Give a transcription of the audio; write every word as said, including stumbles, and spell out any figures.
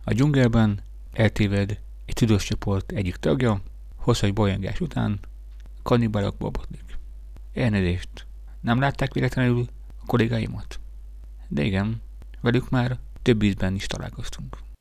A dzsungelben eltéved egy tudós csoport egyik tagja, hosszú bolyongás után kannibalokból botlik. Elnézést, nem látták véletlenül a kollégáimat? De igen, velük már több ízben is találkoztunk.